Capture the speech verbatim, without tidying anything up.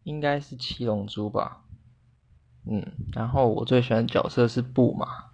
应该是七龙珠吧。嗯，然后我最喜欢的角色是布马。